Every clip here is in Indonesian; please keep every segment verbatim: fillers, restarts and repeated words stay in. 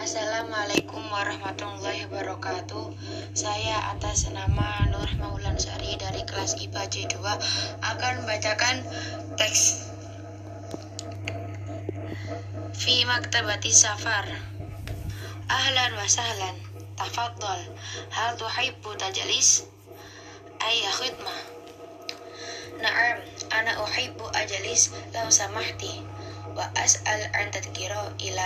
Assalamualaikum warahmatullahi wabarakatuh. Saya atas nama Nur Maulansari dari kelas I P A J dua akan membacakan teks Fi Maktabati Safar. Ahlan wa sahlan, tafaddal. Hal tuhibbu tajlis? Ayya khidmah. Na'am, ana uhibbu ajlis law samahti wa as'al an tadhkira ila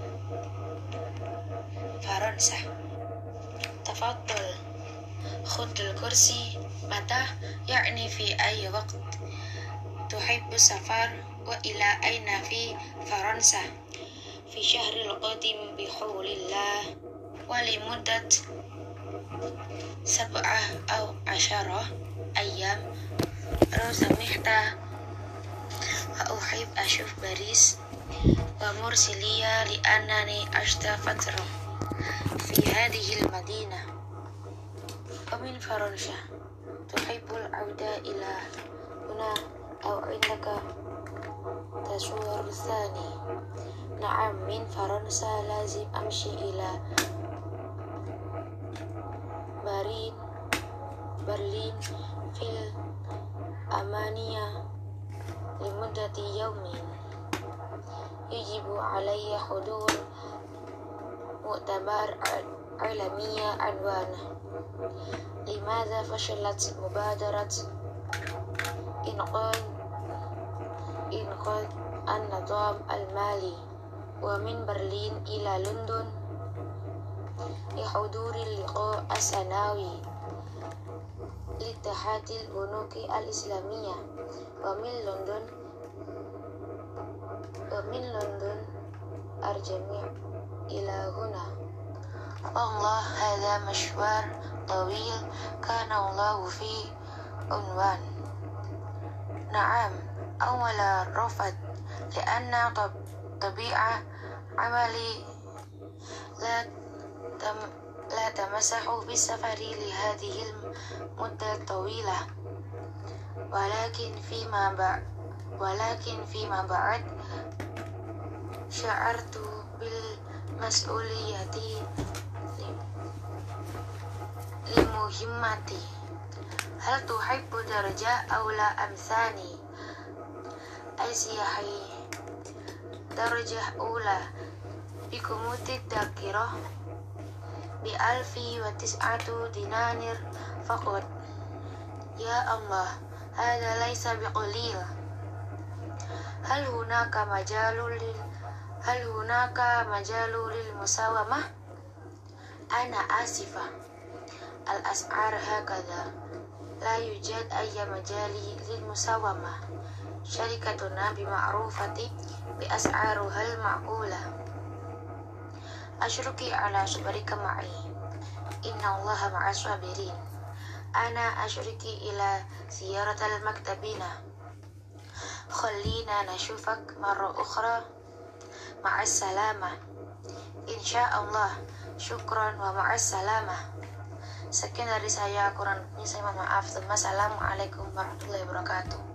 Faransa. Tafaddal. Khudul kursi. Mata? Ya'ni fi ayyi waqt tuhibbu safar wa ila aina fi Faransa? Fi syahril qadim bihawlillah wa limuddat sab'ah aw asyara ayyam. Raw samihta wa uhib ashuf Paris wa mursiliya li annani ashta fatra fi hadhihi al-madinah wa min Faransa. Tuhibbul auda ila huna aw indaka tasawwur thani? Na'am, min Faransa lazim amshi ila Berlin Berlin fil amaniya limuddati yawmin. Yajibu alayya hudur mu'tabar alamiya anwana. Limadha fashalat mubadarat inqad inqad an-nizam al-mali wa min Berlin ila London lihuduri liqa as-sanawi litahadil bunuki al-islamiyah wa min London wa min London arjami ila huna. Allah, hadha mashwar tawil kana Allahu fi unwan. Na'am, awala rafad lianna tabi'a amali la tam la tamasahu bisafari li hadhihi al-mudda tawilah walakin fima ba walakin fima ba'd sya'artu bil mas'uliyati limuhimmati. Hal tuhibbu darja aw la amthani? Ay siyahi darjah ula bikumutid dakirah bi alfi wa tis'atu dinanir faqat. Ya Allah, hada laysa biqalil. Hal hunaka majalul lil hal hunaka majalul lil musawamah? Ana asifa, al as'ar hakadha, la yujad ayya majali lil musawamah. Syarikatuna bima'rufati bi as'aruhal ma'qulah. Ashruki ala sabrika ma'i, inna allaha ma'as sabirin. Ana ashriki ila ziyaratal maktabina. Khallina nashufak marra ukhra. Ma'as salamah. Insyaallah. Syukran wa ma'as salamah. Sekian dari saya, kurang lebihnya saya mohon maaf. Assalamualaikum warahmatullahi wabarakatuh.